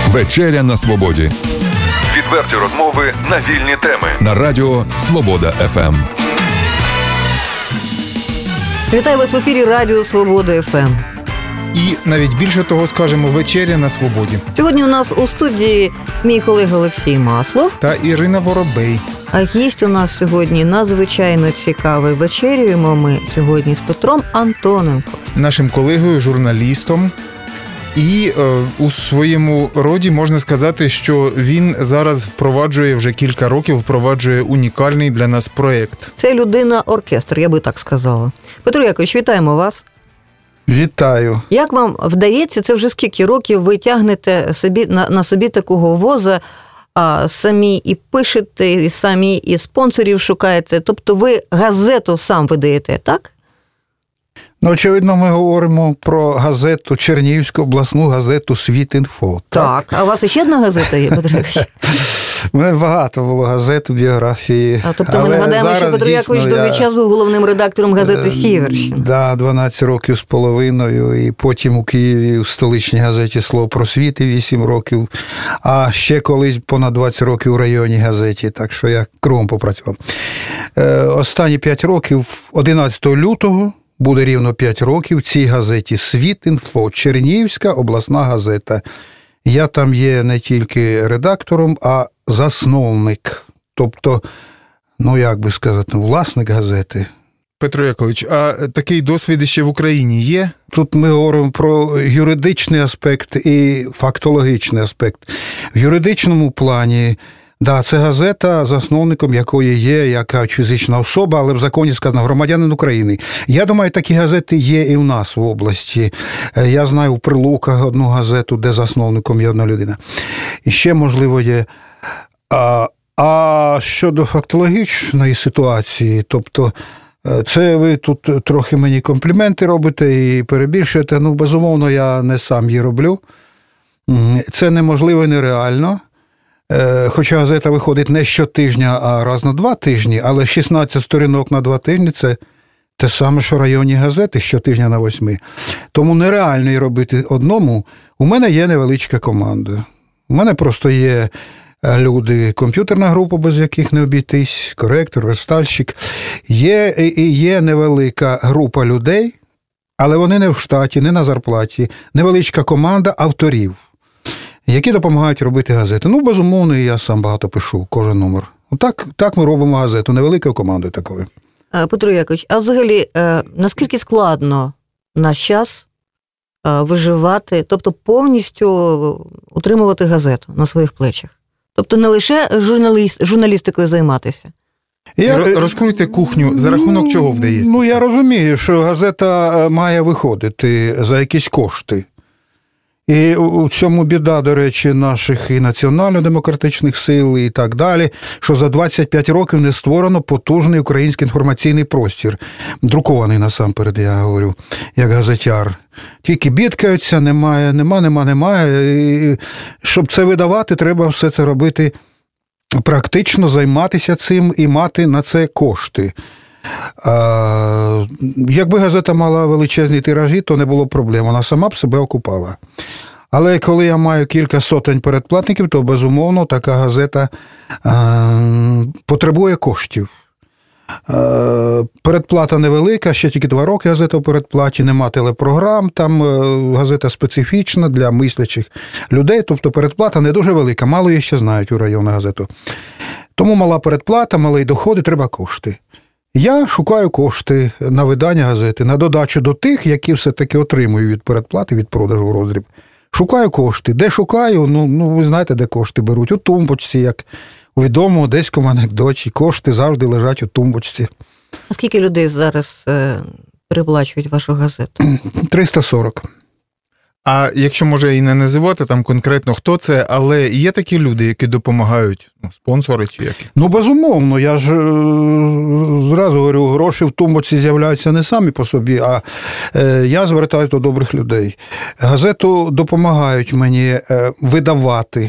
Вечеря на свободі. Відверті розмови на вільні теми. На радіо Свобода ФМ. Вітаю вас в ефірі Радіо Свобода ФМ. І навіть більше того скажемо, вечеря на свободі. Сьогодні у нас у студії мій колега Олексій Маслов Та Ірина Воробей. А гість у нас сьогодні надзвичайно цікавий. Вечерюємо ми сьогодні з Петром Антоненко. Нашим колегою, журналістом. І у своєму роді можна сказати, що він зараз вже кілька років впроваджує унікальний для нас проєкт. Це людина-оркестр, я би так сказала. Петро Якович, вітаємо вас. Вітаю. Як вам вдається, це вже скільки років ви тягнете собі, на собі такого воза, самі і пишете, і самі і спонсорів шукаєте? Тобто ви газету сам видаєте, так? Ну, очевидно, ми говоримо про газету, Чернігівську обласну газету «Світ.Інфо». Так. А у вас ще одна газета є, Петро Якович? У мене багато було газет у біографії. Тобто ми нагадаємо, що Петро Якович довгий час був головним редактором газети «Сіверщина». Так, 12 років з половиною, і потім у Києві у столичній газеті «Слово про світ» 8 років, а ще колись понад 20 років у районній газеті, так що я кругом попрацював. Останні 5 років, 11 лютого, буде рівно 5 років в цій газеті «Світ.Інфо», Чернігівська обласна газета. Я там є не тільки редактором, а засновник. Тобто, як би сказати, власник газети. Петро Якович, а такий досвід ще в Україні є? Тут ми говоримо про юридичний аспект і фактологічний аспект. В юридичному плані, це газета, засновником якої є яка фізична особа, але в законі сказано громадянин України. Я думаю, такі газети є і в нас в області. Я знаю в Прилуках одну газету, де засновником є одна людина. І ще, можливо, є. А щодо фактологічної ситуації, тобто, це ви тут трохи мені компліменти робите і перебільшуєте. Безумовно, я не сам її роблю. Це неможливо і нереально. Хоча газета виходить не щотижня, а раз на 2 тижні, але 16 сторінок на 2 тижні – це те саме, що районні газети щотижня на 8. Тому нереально її робити одному. У мене є невеличка команда. У мене просто є люди, комп'ютерна група, без яких не обійтись, коректор, верстальщик. Є невелика група людей, але вони не в штаті, не на зарплаті. Невеличка команда авторів, які допомагають робити газети. Безумовно, і я сам багато пишу, кожен номер. Так ми робимо газету, невеликою командою такою. Петро Якович, а взагалі, наскільки складно наш час виживати, тобто повністю утримувати газету на своїх плечах? Тобто не лише журналістикою займатися? Розкройте кухню, за рахунок чого вдається? Я розумію, що газета має виходити за якісь кошти. І у цьому біда, до речі, наших і національно-демократичних сил і так далі, що за 25 років не створено потужний український інформаційний простір. Друкований насамперед, я говорю, як газетяр. Тільки бідкаються, немає. І щоб це видавати, треба все це робити практично, займатися цим і мати на це кошти. Якби газета мала величезні тиражі, то не було проблем. Вона сама б себе окупала. Але коли я маю кілька сотень передплатників, то, безумовно, така газета потребує коштів. Передплата невелика, ще тільки 2 роки газета в передплаті, нема телепрограм, там газета специфічна для мислячих людей, тобто передплата не дуже велика, мало її ще знають у районну газету. Тому мала передплата, малі доходи, треба кошти. Я шукаю кошти на видання газети, на додачу до тих, які все-таки отримую від передплати, від продажу в роздріб. Шукаю кошти. Де шукаю? Ви знаєте, де кошти беруть. У тумбочці, як у відомому одеському анекдоті. Кошти завжди лежать у тумбочці. А скільки людей зараз переплачують вашу газету? 340. А якщо, може, і не називати там конкретно, хто це, але є такі люди, які допомагають, спонсори чи які? Безумовно, я ж зразу говорю, гроші в тумбочці з'являються не самі по собі, а я звертаюся до добрих людей. Газету допомагають мені видавати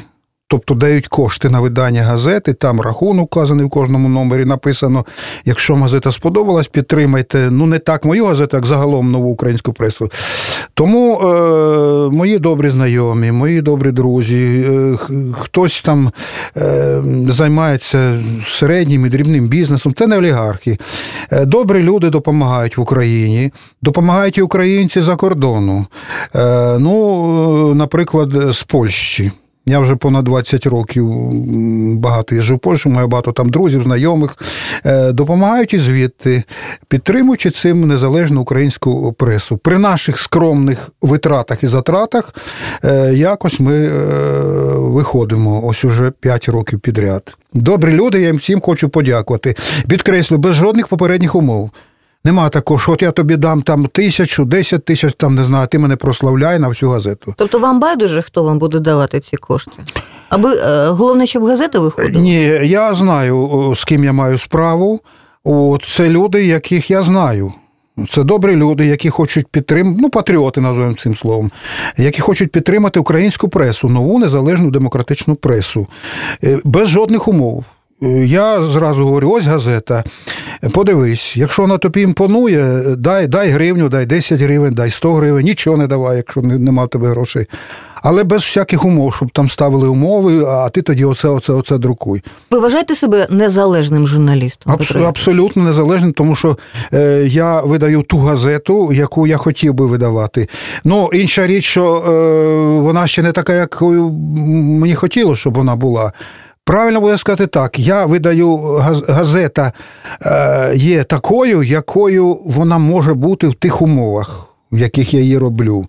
тобто дають кошти на видання газети, там рахунок вказаний в кожному номері, написано, якщо газета сподобалась, підтримайте, не так мою газету, як загалом нову українську пресу. Тому мої добрі знайомі, мої добрі друзі, хтось там займається середнім і дрібним бізнесом, це не олігархи. Добрі люди допомагають в Україні, допомагають і українці за кордону. Наприклад, з Польщі. Я вже понад 20 років багато їжджу в Польщу, маю багато там друзів, знайомих. Допомагають і звідти, підтримуючи цим незалежну українську пресу. При наших скромних витратах і затратах якось ми виходимо ось уже 5 років підряд. Добрі люди, я їм всім хочу подякувати. Підкреслю, без жодних попередніх умов. Нема такого, що от я тобі дам там 1000, 10 тисяч, там, не знаю, ти мене прославляй на всю газету. Тобто вам байдуже, хто вам буде давати ці кошти? Аби головне, щоб газета виходила? Ні, я знаю, з ким я маю справу. Це люди, яких я знаю. Це добрі люди, які хочуть підтримати, патріоти, називаємо цим словом, які хочуть підтримати українську пресу, нову незалежну демократичну пресу. Без жодних умов. Я зразу говорю, ось газета, подивись, якщо вона тобі імпонує, дай гривню, дай 10 гривень, дай 100 гривень, нічого не давай, якщо нема в тебе грошей. Але без всяких умов, щоб там ставили умови, а ти тоді оце друкуй. Ви вважаєте себе незалежним журналістом? Абсолютно незалежним, тому що я видаю ту газету, яку я хотів би видавати. Інша річ, що вона ще не така, якою мені хотілося, щоб вона була. Правильно буде сказати так, я видаю, газета є такою, якою вона може бути в тих умовах, в яких я її роблю.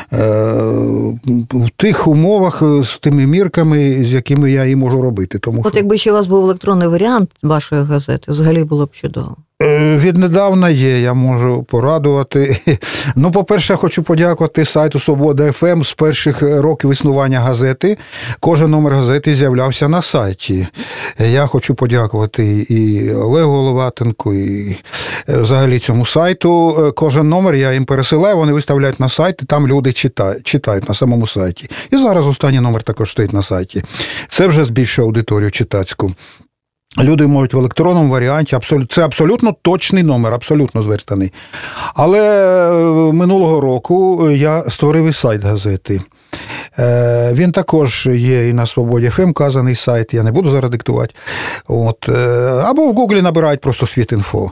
В тих умовах, з тими мірками, з якими я її можу робити. Якби ще у вас був електронний варіант вашої газети, взагалі було б чудово. Віднедавна є, я можу порадувати. По-перше, я хочу подякувати сайту «Свобода ФМ». З перших років існування газети кожен номер газети з'являвся на сайті. Я хочу подякувати і Олегу Головатенку, і взагалі цьому сайту. Кожен номер я їм пересилаю, вони виставляють на сайт, і там люди читають на самому сайті. І зараз останній номер також стоїть на сайті. Це вже збільшує аудиторію читацьку. Люди можуть в електронному варіанті, це абсолютно точний номер, абсолютно зверстаний. Але минулого року я створив і сайт газети. Він також є і на «Свободі ФМ» вказаний сайт, я не буду зараз диктувати. Або в Гуглі набирають просто «Світ.Інфо».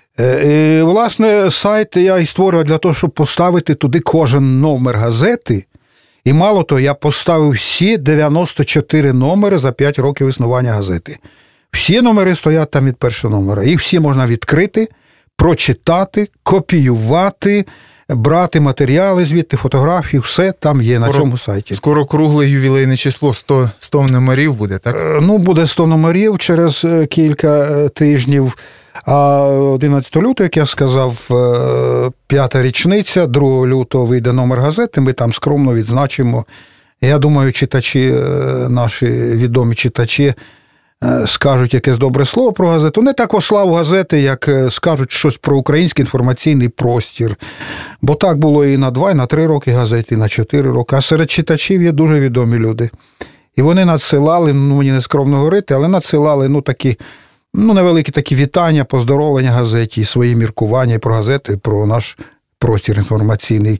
Власне, сайт я і створював для того, щоб поставити туди кожен номер газети. І мало того, я поставив всі 94 номери за 5 років існування газети. Всі номери стоять там від першого номера. Їх всі можна відкрити, прочитати, копіювати, брати матеріали звідти, фотографії, все там є на цьому сайті. Скоро кругле ювілейне число, 100 номерів буде, так? Буде 100 номерів через кілька тижнів. А 11 лютого, як я сказав, 5-та річниця, 2 лютого вийде номер газети, ми там скромно відзначимо. Я думаю, читачі, наші відомі читачі, скажуть якесь добре слово про газету. Не так славу газети, як скажуть щось про український інформаційний простір. Бо так було і на 2, і на 3 роки газети, і на 4 роки. А серед читачів є дуже відомі люди. І вони надсилали, мені не скромно говорити, але надсилали такі, невеликі такі вітання, поздоровлення газеті, свої міркування і про газету, і про наш простір інформаційний.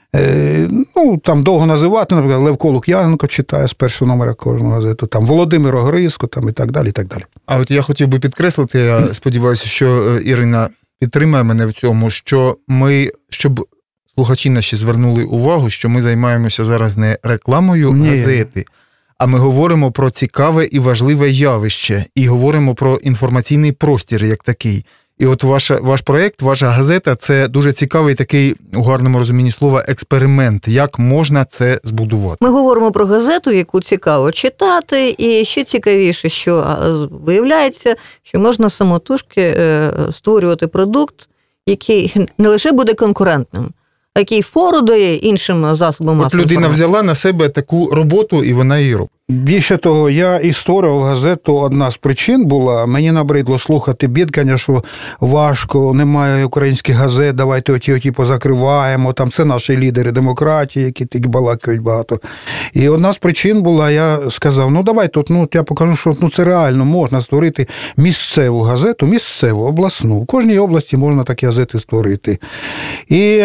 Там довго називати, наприклад, Левко Лук'яненко читає з першого номера кожного газету, там Володимир Огризко, там і так далі, і так далі. А от я хотів би підкреслити, я сподіваюся, що Ірина підтримає мене в цьому, що щоб слухачі наші звернули увагу, що ми займаємося зараз не рекламою газети, а ми говоримо про цікаве і важливе явище, і говоримо про інформаційний простір як такий. І от ваш проєкт, ваша газета – це дуже цікавий такий, у гарному розумінні слова, експеримент. Як можна це збудувати? Ми говоримо про газету, яку цікаво читати, і ще цікавіше, що виявляється, що можна самотужки створювати продукт, який не лише буде конкурентним, а який фору дає іншим засобам масової інформації. От людина взяла на себе таку роботу, і вона її робить. Більше того, я і створював газету, одна з причин була, мені набридло слухати бідкання, що важко, немає українських газет, давайте оті позакриваємо, там це наші лідери демократії, які тільки балакають багато. І одна з причин була, я сказав, давай тут, я покажу, що це реально можна створити місцеву газету, місцеву, обласну. В кожній області можна такі газети створити. І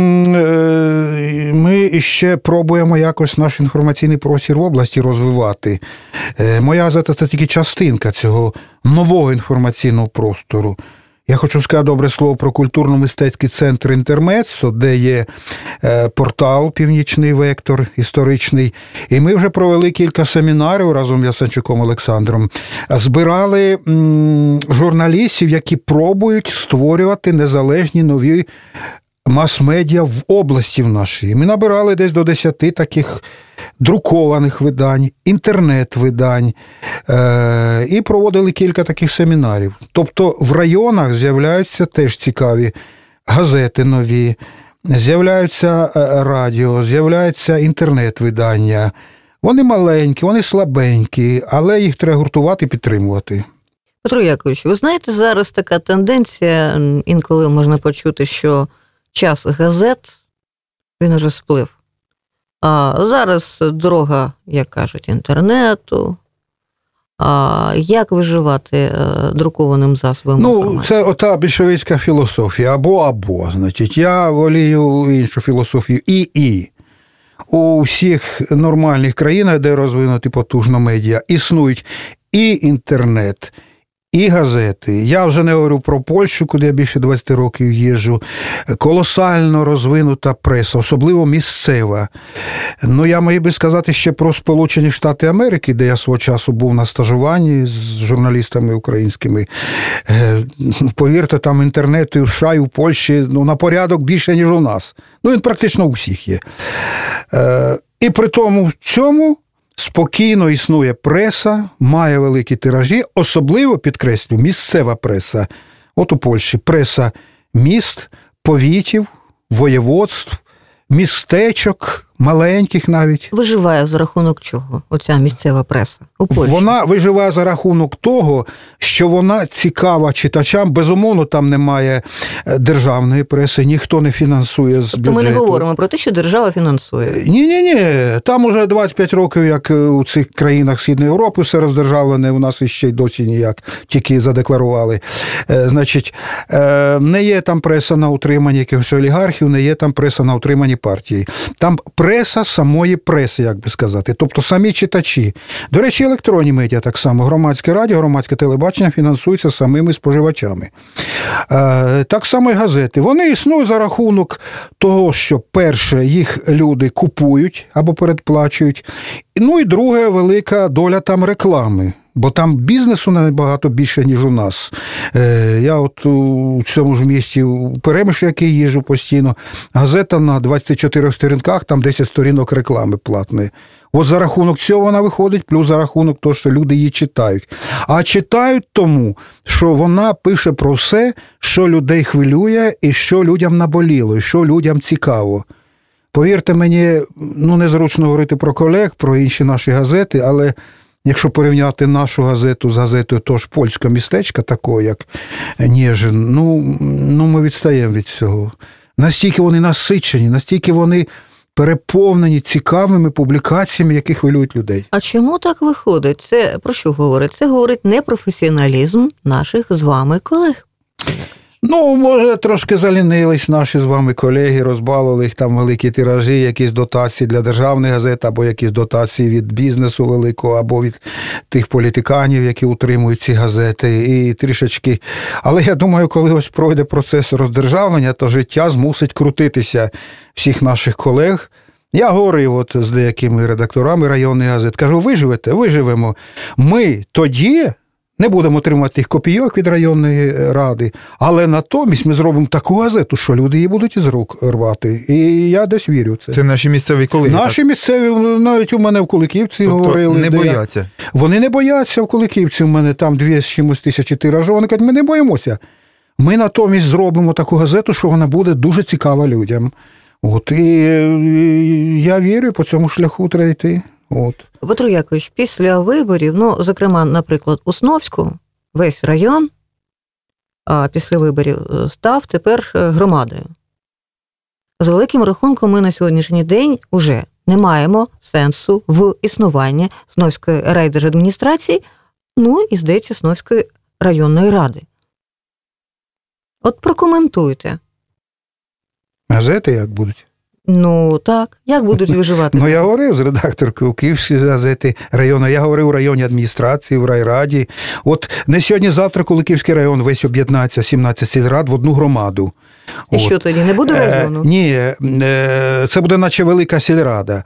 ми ще пробуємо якось наш інформаційний простір в області розвивати. Моя газета – це тільки частинка цього нового інформаційного простору. Я хочу сказати добре слово про культурно-мистецький центр «Інтермеццо», де є портал «Північний вектор» історичний. І ми вже провели кілька семінарів разом з Ясенчуком Олександром. Збирали журналістів, які пробують створювати незалежні нові мас-медіа в області в нашій. Ми набирали десь до 10 таких друкованих видань, інтернет-видань і проводили кілька таких семінарів. Тобто в районах з'являються теж цікаві газети нові, з'являються радіо, з'являються інтернет-видання. Вони маленькі, вони слабенькі, але їх треба гуртувати і підтримувати. Петро Якович, ви знаєте, зараз така тенденція, інколи можна почути, що час газет, він уже сплив. А зараз дорога, як кажуть, інтернету. А як виживати друкованим засобом інформації? Це ота більшовицька філософія. Або. Значить, я волію іншу філософію. І. У всіх нормальних країнах, де розвинуті потужно медіа, існують і інтернет, і газети. Я вже не говорю про Польщу, куди я більше 20 років їжджу. Колосально розвинута преса, особливо місцева. Я міг би сказати ще про Сполучені Штати Америки, де я свого часу був на стажуванні з журналістами українськими. Повірте, там інтернету і в США, і в Польщі на порядок більше, ніж у нас. Він практично у всіх є. І при тому в цьому спокійно існує преса, має великі тиражі, особливо, підкреслю, місцева преса. От у Польщі преса міст, повітів, воєводств, містечок, маленьких навіть. Виживає за рахунок чого оця місцева преса у Польщі? Вона виживає за рахунок того, що вона цікава читачам. Безумовно, там немає державної преси, ніхто не фінансує з бюджету. Ми не говоримо про те, що держава фінансує. Ні. Там уже 25 років, як у цих країнах Східної Європи, все роздержавлене, у нас іще й досі ніяк, тільки задекларували. Значить, не є там преса на утриманні якихось олігархів, не є там преса на утриманні партії. Там преса самої преси, як би сказати, тобто самі читачі. До речі, електронні медіа так само, громадське радіо, громадське телебачення фінансуються самими споживачами. Так само і газети. Вони існують за рахунок того, що, перше, їх люди купують або передплачують, і друге, велика доля там реклами. Бо там бізнесу набагато більше, ніж у нас. Я от у цьому ж місті, у Перемишлі, який їжджу постійно, газета на 24 сторінках, там 10 сторінок реклами платної. От за рахунок цього вона виходить, плюс за рахунок того, що люди її читають. А читають тому, що вона пише про все, що людей хвилює, і що людям наболіло, і що людям цікаво. Повірте мені, незручно говорити про колег, про інші наші газети, але якщо порівняти нашу газету з газетою того ж польського містечка, такого як Ніжин, ми відстаємо від цього. Настільки вони насичені, настільки вони переповнені цікавими публікаціями, які хвилюють людей. А чому так виходить? Це про що говорить? Це говорить непрофесіоналізм наших з вами колег. Може, трошки залінились наші з вами колеги, розбалували їх там великі тиражі, якісь дотації для державних газет, або якісь дотації від бізнесу великого, або від тих політиканів, які утримують ці газети, і трішечки. Але я думаю, коли ось пройде процес роздержавлення, то життя змусить крутитися всіх наших колег. Я говорив з деякими редакторами районних газет, кажу, виживемо. Ми тоді не будемо отримати тих копійок від районної ради, але натомість ми зробимо таку газету, що люди її будуть із рук рвати. І я десь вірю в це. Це наші місцеві колеги. Наші місцеві, навіть у мене в Куликівці говорили. Не бояться? Вони не бояться в Куликівці. У мене там 2 з чимось тисячі тиражів. Вони кажуть, ми не боїмося. Ми натомість зробимо таку газету, що вона буде дуже цікава людям. І я вірю, по цьому шляху треба йти. От. Петро Якович, після виборів, ну, зокрема, наприклад, у Сновську, весь район після виборів став тепер громадою. За великим рахунком, ми на сьогоднішній день уже не маємо сенсу в існуванні Сновської райдержадміністрації, ну і, здається, Сновської районної ради. От прокоментуйте. Газети як будуть? Ну, так. Як будуть виживати? Ну, я говорив з редакторкою Київської газети району, я говорив у районній адміністрації, в райраді. От не сьогодні-завтра, коли Київський район весь об'єднається, 17 сільрад в одну громаду. І що тоді, не буде району? Ні, це буде наче велика сільрада.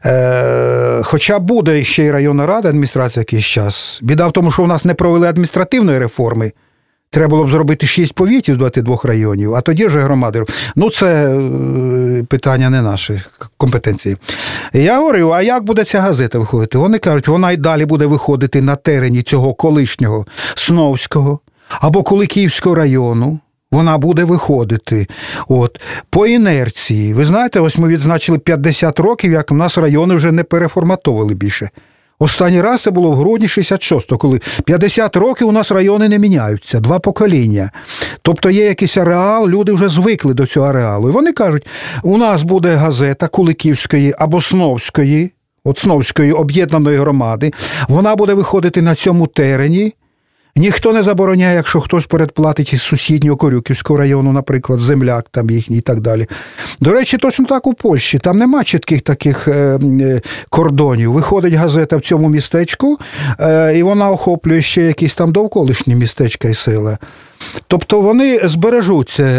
Хоча буде ще й районна рада, адміністрація якийсь час. Біда в тому, що у нас не провели адміністративної реформи. Треба було б зробити 6 повітів з 22 районів, а тоді вже громади. Ну, це питання не наші компетенції. Я говорю, а як буде ця газета виходити? Вони кажуть, вона й далі буде виходити на терені цього колишнього Сновського або Куликівського району. Вона буде виходити. От. По інерції. Ви знаєте, ось ми відзначили 50 років, як у нас райони вже не переформатовували більше. Останній раз це було в грудні 66-го, коли 50 років у нас райони не міняються, 2 покоління. Тобто є якийсь ареал, люди вже звикли до цього ареалу. І вони кажуть, у нас буде газета Куликівської або Сновської, от Сновської об'єднаної громади, вона буде виходити на цьому терені. Ніхто не забороняє, якщо хтось передплатить із сусіднього Корюківського району, наприклад, земляк там їхній і так далі. До речі, точно так у Польщі. Там нема чітких таких кордонів. Виходить газета в цьому містечку, і вона охоплює ще якісь там довколишні містечка і села. Тобто вони збережуться,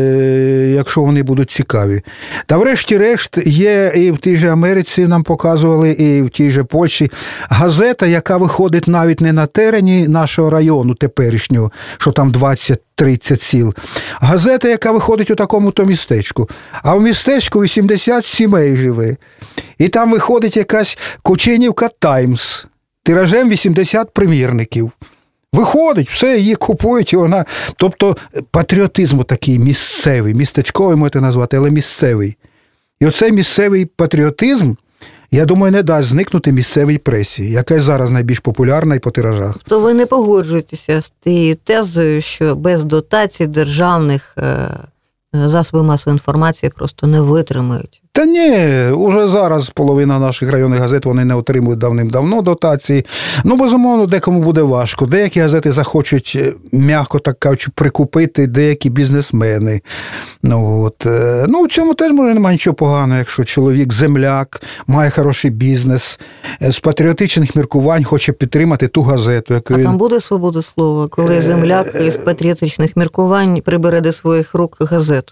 якщо вони будуть цікаві. Та врешті-решт є і в тій же Америці нам показували, і в тій же Польщі газета, яка виходить навіть не на терені нашого району теперішнього, що там 20-30 сіл. Газета, яка виходить у такому-то містечку. А в містечку 80 сімей живе. І там виходить якась Кучинівка Таймс. Тиражем 80 примірників. Виходить, все, її купують, і вона... Тобто патріотизм такий місцевий, містечковий можете назвати, але місцевий. І оцей місцевий патріотизм, я думаю, не дасть зникнути місцевій пресі, яка зараз найбільш популярна і по тиражах. То ви не погоджуєтеся з тією тезою, що без дотацій державних засоби масової інформації просто не витримають? Та ні, уже зараз половина наших районних газет, вони не отримують давним-давно дотації. Ну, безумовно, декому буде важко. Деякі газети захочуть, м'яко так кажучи, прикупити деякі бізнесмени. Ну, в цьому теж, може, немає нічого поганого, якщо чоловік земляк, має хороший бізнес, з патріотичних міркувань хоче підтримати ту газету. Яку А там буде свобода слова, коли земляк із патріотичних міркувань прибере до своїх рук газету?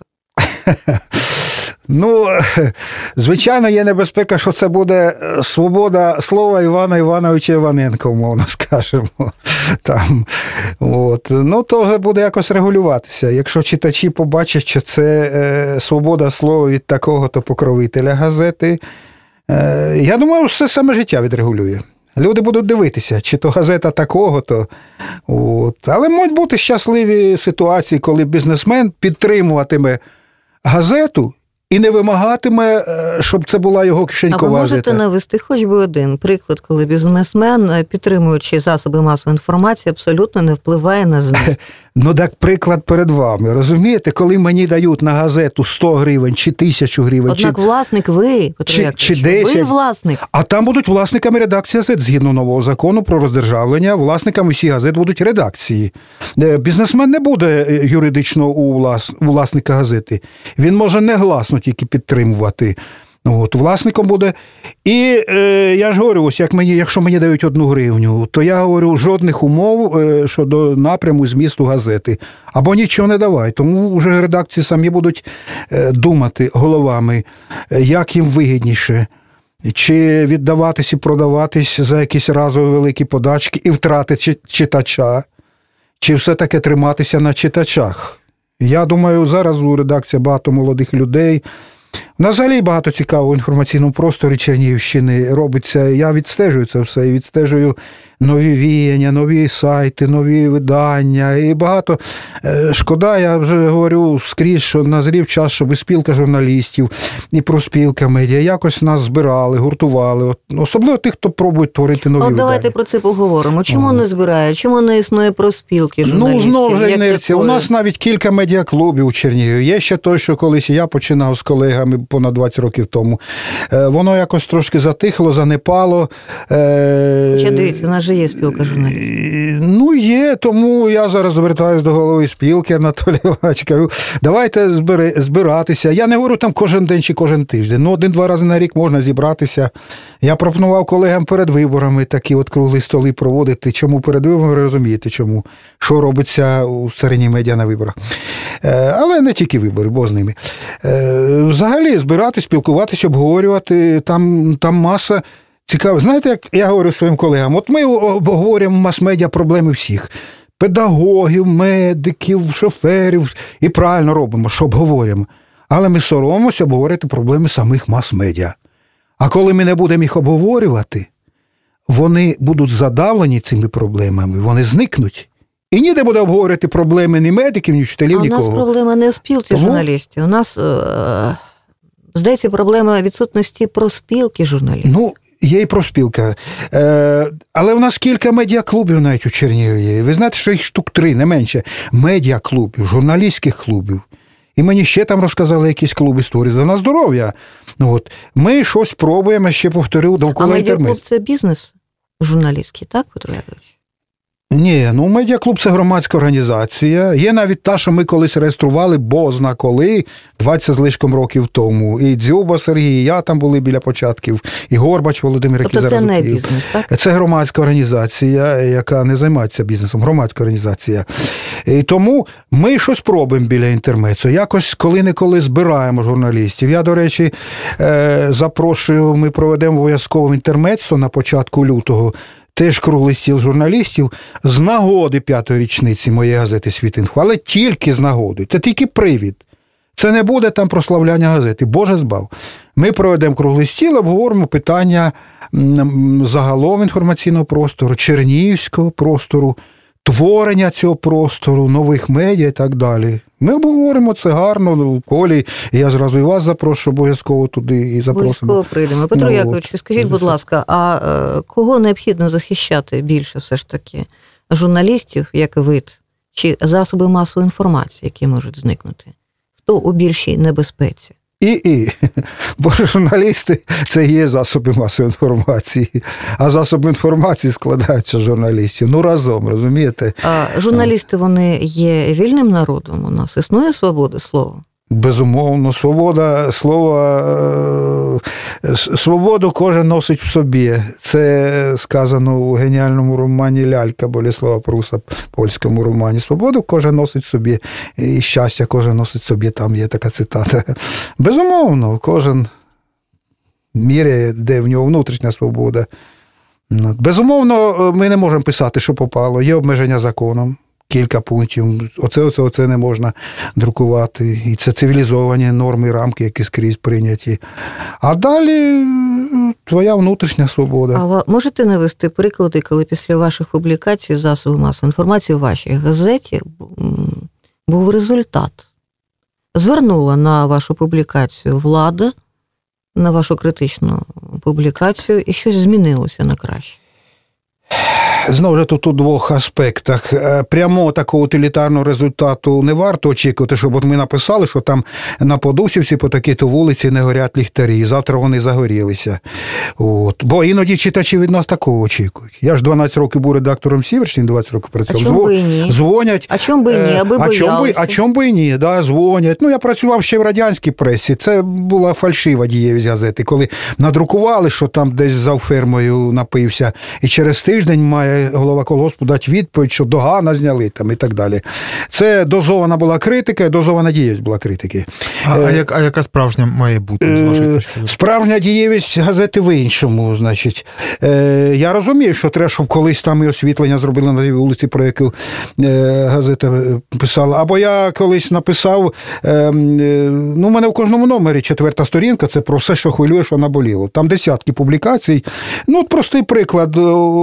Ну, звичайно, є небезпека, що це буде свобода слова Івана Івановича Іваненка, умовно скажемо. Там, от. Ну, то вже буде якось регулюватися. Якщо читачі побачать, що це свобода слова від такого-то покровителя газети, я думаю, все саме життя відрегулює. Люди будуть дивитися, чи то газета такого-то. От. Але можуть бути щасливі ситуації, коли бізнесмен підтримуватиме газету і не вимагатиме, щоб це була його кишенькова газета. А ви можете навести хоч би один приклад, коли бізнесмен, підтримуючи засоби масової інформації, абсолютно не впливає на зміст? Ну, так приклад перед вами. Розумієте, коли мені дають на газету 100 гривень чи 1000 гривень. Однак власник ви, Петро Якович, чи 10. ви власник. А там будуть власниками редакції газет. Згідно нового закону про роздержавлення, власниками всіх газет будуть редакції. Бізнесмен не буде юридично у власника газети. Він може негласно тільки підтримувати. От, власником буде. І я ж говорю, ось якщо мені дають 1 гривню, то я говорю, жодних умов щодо напряму змісту газети. Або нічого не давай. Тому вже редакції самі будуть думати головами, як їм вигідніше. Чи віддаватись і продаватись за якісь разові великі подачки і втратити читача, чи все-таки триматися на читачах. Я думаю, зараз у редакції багато молодих людей. У нас взагалі багато цікавого в інформаційному просторі Чернігівщини робиться. Я відстежую це все, і відстежую нові віяння, нові сайти, нові видання. І багато. Шкода, я вже говорю скрізь, що назрів час, щоб спілка журналістів, і профспілка медіа якось нас збирали, гуртували. Особливо тих, хто пробує творити нові видання. Давайте про це поговоримо. Чому не збирають? Чому не існує профспілки журналістів? Знову ж інерція. У нас навіть кілька медіаклубів у Чернігові. Є ще той, що колись я починав з колегами понад 20 років тому. Воно якось трошки затихло, занепало. Хоча дивіться, у нас же є спілка журналістів. Є, тому я зараз звертаюся до голови спілки, Анатолій Іванович, кажу, давайте збиратися. Я не говорю там кожен день чи кожен тиждень. 1-2 рази на рік можна зібратися. Я пропонував колегам перед виборами такі от круглі столи проводити. Чому перед виборами, ви розумієте, чому? Що робиться у стороні медіа на виборах. Але не тільки вибори, бо з ними. Взагалі збирати, спілкуватися, обговорювати, там маса цікаво. Знаєте, як я говорю своїм колегам, от ми обговорюємо в мас-медіа проблеми всіх. Педагогів, медиків, шоферів. І правильно робимо, що обговорюємо. Але ми соромимося обговорити проблеми самих мас-медіа. А коли ми не будемо їх обговорювати, вони будуть задавлені цими проблемами, вони зникнуть. І ніде буде обговорювати проблеми ні медиків, ні вчителів, нікого. У нас проблема не в спілці журналістів. У нас, здається, проблема відсутності профспілки журналістів. Є і профспілка. Але у нас кілька медіаклубів навіть у Чернігові. Ви знаєте, що їх штук 3, не менше. Медіаклубів, журналістських клубів. І мені ще там розказали якісь клуби створюють. На здоров'я. Ми щось пробуємо, ще повторю, довкола інтернету. А медіаклуб – це бізнес журналістський, так, Петро Якович? Ні, медіаклуб – це громадська організація. Є навіть та, що ми колись реєстрували, бозна коли, 20 з лишком років тому. І Дзюба Сергій, і я там були біля початків, і Горбач Володимир, який зараз у Києві. Тобто це не бізнес, так? Це громадська організація, яка не займається бізнесом, громадська організація. І тому ми щось пробуємо біля інтермецу. Якось коли-неколи збираємо журналістів. Я, до речі, запрошую, ми проведемо обов'язково інтермецо на початку лютого, теж круглий стіл журналістів з нагоди 5-ї річниці моєї газети «Світ-Інфо», але тільки з нагоди. Це тільки привід. Це не буде там прославляння газети. Боже збав. Ми проведемо круглий стіл, обговоримо питання загалом інформаційного простору, чернігівського простору, творення цього простору, нових медіа і так далі. Ми обговоримо це гарно в колі. Я зразу і вас запрошу обов'язково туди і запросимо. Обов'язково прийдемо. Петро Якович, скажіть, будь ласка, а кого необхідно захищати більше все ж таки? Журналістів, як вид, чи засоби масової інформації, які можуть зникнути? Хто у більшій небезпеці? Бо журналісти – це є засоби масової інформації, а засоби інформації складаються з журналістів. Разом, розумієте? А журналісти, вони є вільним народом у нас? Існує свобода слова? Безумовно, свобода слова, свободу кожен носить в собі. Це сказано у геніальному романі «Лялька» Болеслава Пруса, польському романі. Свободу кожен носить в собі, і щастя кожен носить в собі, там є така цитата. Безумовно, кожен міряє, де в нього внутрішня свобода. Безумовно, ми не можемо писати, що попало, є обмеження законом. Кілька пунктів. Оце не можна друкувати. І це цивілізовані норми, рамки, які скрізь прийняті. А далі твоя внутрішня свобода. А ви можете навести приклади, коли після ваших публікацій засобів масової інформації в вашій газеті був результат? Звернула на вашу публікацію влада, на вашу критичну публікацію, і щось змінилося на краще? Знову ж тут у двох аспектах. Прямо такого утилітарного результату не варто очікувати, щоб от ми написали, що там на Подусівці по такій-то вулиці не горять ліхтарі, і завтра вони загорілися. Бо іноді читачі від нас такого очікують. Я ж 12 років був редактором «Сіверщини», 20 років працював. А чому би і ні? Дзвонять. А чому би і ні? Аби боялися. А чому би і ні? Да, дзвонять. Я працював ще в радянській пресі. Це була фальшива дієвість газети. Коли надрукували, що там десь за фермою напився, і через тиждень тиждень має голова колгоспу дати відповідь, що догана зняли там і так далі. Це дозована була критика, дозована дієвість була критики. А яка справжня має бути, з вашої точки зору? Справжня дієвість газети в іншому, значить. Я розумію, що треба, щоб колись там і освітлення зробили на вулиці, про яку газета писала. Або я колись написав, у мене в кожному номері 4-та сторінка, це про все, що хвилює, що наболіло. Там десятки публікацій. Простий приклад.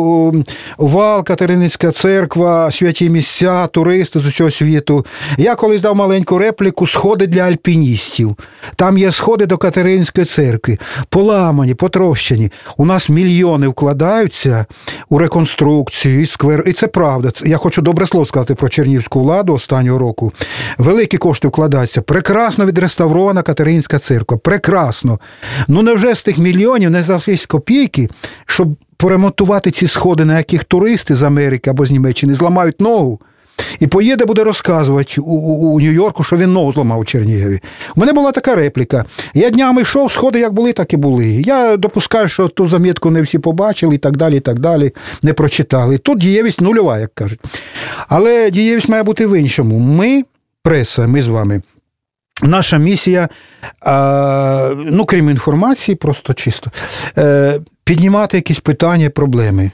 Вал, Катерининська церква, святі місця, туристи з усього світу. Я колись дав маленьку репліку «Сходи для альпіністів». Там є сходи до Катерининської церкви. Поламані, потрощені. У нас мільйони вкладаються у реконструкцію, і сквер. І це правда. Я хочу добре слово сказати про чернігівську владу останнього року. Великі кошти вкладаються. Прекрасно відреставрована Катерининська церква. Прекрасно. Невже з тих мільйонів не залишились копійки, щоб поремонтувати ці сходи, на яких туристи з Америки або з Німеччини зламають ногу, і поїде, буде розказувати у Нью-Йорку, що він ногу зламав у Чернігові. У мене була така репліка. Я днями йшов, сходи як були, так і були. Я допускаю, що ту замітку не всі побачили і так далі, не прочитали. Тут дієвість нульова, як кажуть. Але дієвість має бути в іншому. Ми, преса, ми з вами, наша місія, крім інформації, просто чисто, піднімати якісь питання, проблеми.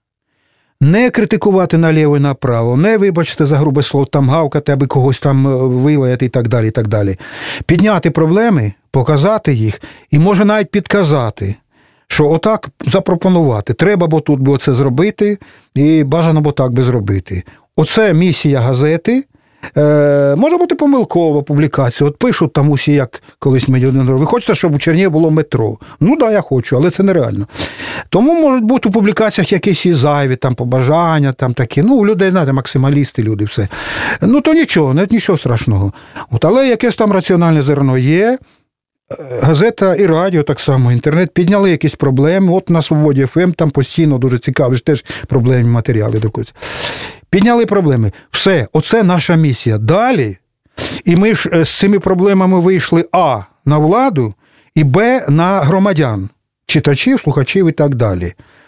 Не критикувати наліво і направо, не, вибачте за грубе слово, там гавкати, аби когось там вилаяти і так далі, і так далі. Підняти проблеми, показати їх і може навіть підказати, що отак запропонувати. Треба бо тут бо це зробити і бажано бо так би зробити. Оце місія газети. Може бути помилкова публікація. От пишуть там усі, як колись мені один говорив, ви хочете, щоб у Чернігові було метро? Я хочу, але це нереально. Тому можуть бути у публікаціях якісь і зайві, там побажання, там такі. У людей, знаєте, максималісти, люди, все. То нічого, нічого страшного. Але якесь там раціональне зерно є. Газета і радіо так само, інтернет підняли якісь проблеми. От на Свободі ФМ там постійно дуже цікаві, теж проблемні матеріали друкуються. Підняли проблеми. Все, оце наша місія. Далі, і ми ж з цими проблемами вийшли на владу, і на громадян, читачів, слухачів і так далі.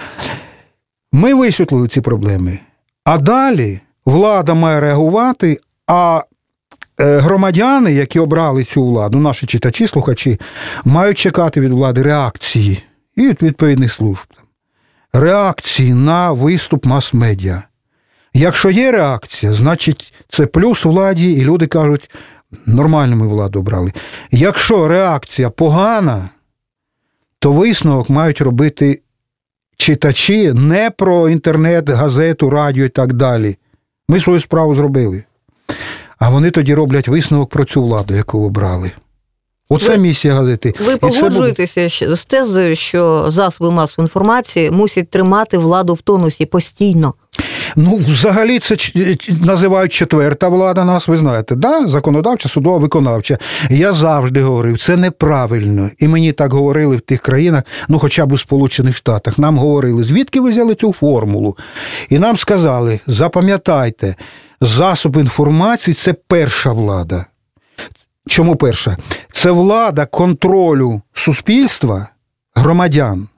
Ми висвітлили ці проблеми. А далі влада має реагувати, а громадяни, які обрали цю владу, наші читачі, слухачі, мають чекати від влади реакції і від відповідних служб. Реакції на виступ мас-медіа. Якщо є реакція, значить це плюс владі, і люди кажуть, нормально ми владу обрали. Якщо реакція погана, то висновок мають робити читачі не про інтернет, газету, радіо і так далі. Ми свою справу зробили. А вони тоді роблять висновок про цю владу, яку обрали. Оце місія газети. Ви погоджуєтеся з тезою, що засоби масової інформації мусять тримати владу в тонусі постійно? Взагалі це називають четверта влада нас, ви знаєте, да? Законодавча, судова, виконавча. Я завжди говорив, це неправильно. І мені так говорили в тих країнах, хоча б у Сполучених Штатах. Нам говорили, звідки ви взяли цю формулу? І нам сказали, запам'ятайте, засоб інформації – це перша влада. Чому перша? Це влада контролю суспільства, громадян.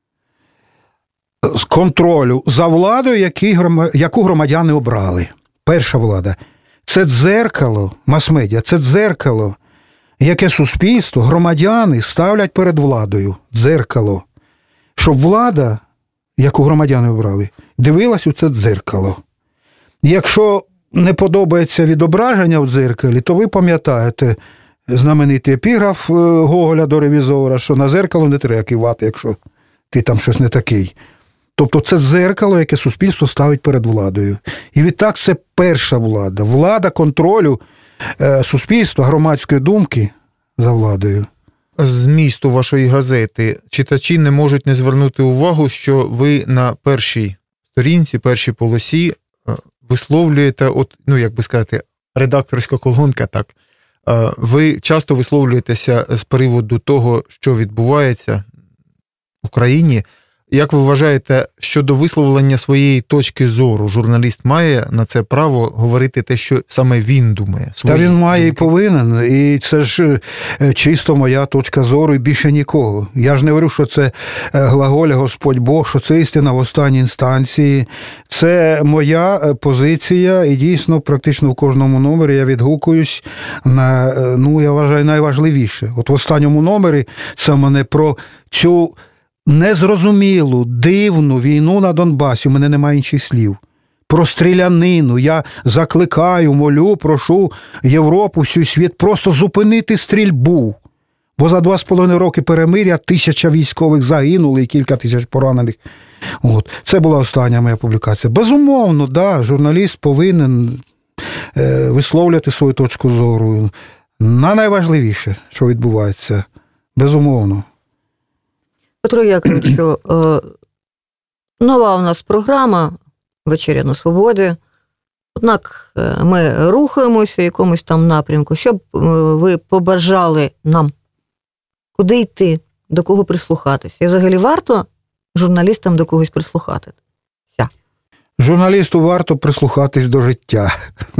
З контролю за владою, яку громадяни обрали. Перша влада. Це дзеркало, мас-медіа, це дзеркало, яке суспільство, громадяни ставлять перед владою. Дзеркало. Щоб влада, яку громадяни обрали, дивилась у це дзеркало. Якщо не подобається відображення в дзеркалі, то ви пам'ятаєте знаменитий епіграф Гоголя до ревізора, що на дзеркало не треба кивати, якщо ти там щось не такий. Тобто це дзеркало, яке суспільство ставить перед владою. І відтак це перша влада. Влада контролю суспільства, громадської думки за владою. Змісту вашої газети читачі не можуть не звернути увагу, що ви на першій сторінці, першій полосі висловлюєте, редакторська колонка, так, ви часто висловлюєтеся з приводу того, що відбувається в Україні. Як ви вважаєте, щодо висловлення своєї точки зору, журналіст має на це право говорити те, що саме він думає? Та він має і повинен, і це ж чисто моя точка зору, і більше нікого. Я ж не говорю, що це глаголя Господь Бог, що це істина в останній інстанції. Це моя позиція, і дійсно практично в кожному номері я відгукуюсь на, я вважаю, найважливіше. От в останньому номері це мене про цю незрозумілу, дивну війну на Донбасі, у мене немає інших слів. Про стрілянину. Я закликаю, молю, прошу Європу, всю світ просто зупинити стрільбу. Бо за 2,5 роки перемир'я 1000 військових загинули і кілька тисяч поранених. От. Це була остання моя публікація. Безумовно, да, журналіст повинен висловлювати свою точку зору на найважливіше, що відбувається. Безумовно. Петро Яковлевичу, нова у нас програма «Вечеря на свободі». Однак ми рухаємося в якомусь там напрямку. Щоб ви побажали нам, куди йти, до кого прислухатися? І взагалі варто журналістам до когось прислухатися? Журналісту варто прислухатись до життя.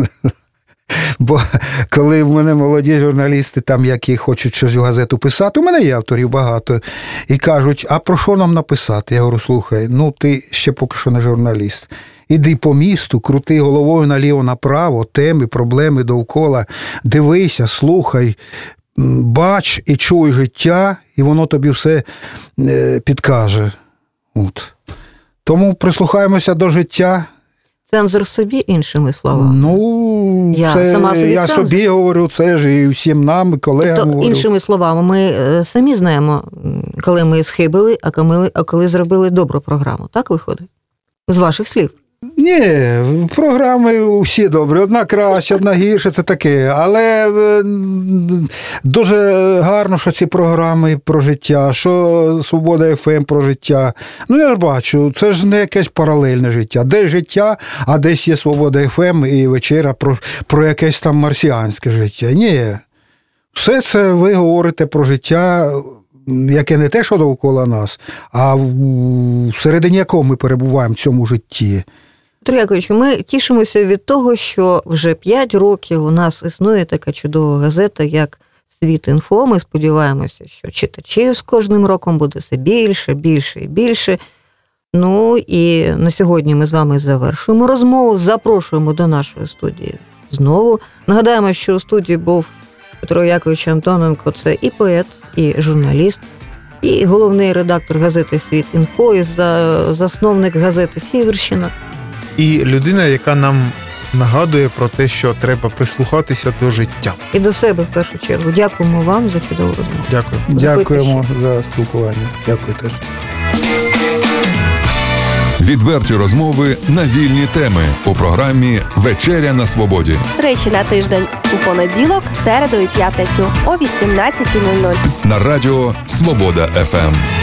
Бо коли в мене молоді журналісти, там, які хочуть щось в газету писати, у мене є авторів багато, і кажуть, а про що нам написати? Я говорю, слухай, ти ще поки що не журналіст. Іди по місту, крути головою наліво-направо, теми, проблеми довкола, дивися, слухай, бач і чуй життя, і воно тобі все підкаже. От. Тому прислухаємося до життя. Цензор собі, іншими словами. Я собі говорю, це ж і всім нам, і колегам говорю. Іншими словами, ми самі знаємо, коли ми схибили, а коли зробили добру програму. Так виходить? З ваших слів. Ні, програми всі добрі. Одна краще, одна гірше, це таке. Але дуже гарно, що ці програми про життя, що Свобода ФМ про життя. Я ж бачу, це ж не якесь паралельне життя. Десь життя, а десь є Свобода ФМ і вечеря про якесь там марсіанське життя. Ні. Все це ви говорите про життя, яке не те, що довкола нас, а всередині якого ми перебуваємо в цьому житті. Петро Яковлевич, ми тішимося від того, що вже 5 років у нас існує така чудова газета, як «Світ.Інфо». Ми сподіваємося, що читачів з кожним роком буде все більше, більше і більше. І на сьогодні ми з вами завершуємо розмову, запрошуємо до нашої студії знову. Нагадаємо, що у студії був Петро Яковлевич Антоненко, це і поет, і журналіст, і головний редактор газети «Світ.Інфо», і засновник газети «Сіверщина». І людина, яка нам нагадує про те, що треба прислухатися до життя. І до себе, в першу чергу. Дякуємо вам за чудову розмову. Дякую. Дякуємо за спілкування. Дякую теж. Відверті розмови на вільні теми у програмі «Вечеря на свободі». Тричі на тиждень у понеділок, середу і п'ятницю о 18:00. На радіо «Свобода ФМ».